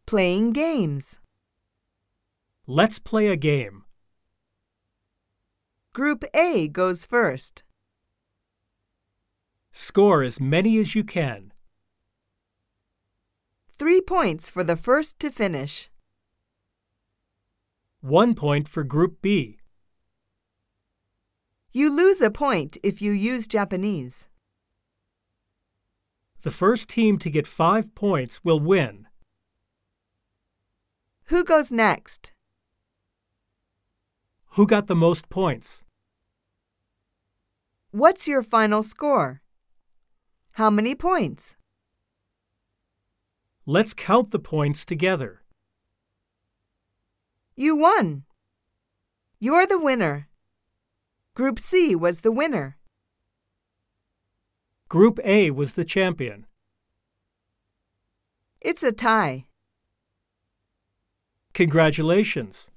Playing games. Let's play a game. Group A goes first. Score as many as you can. 3 points for the first to finish. 1 point for Group B. You lose a point if you use Japanese. The first team to get 5 points will win. Who goes next? Who got the most points? What's your final score? How many points? Let's count the points together. You won. You're the winner. Group C was the winner. Group A was the champion. It's a tie. Congratulations!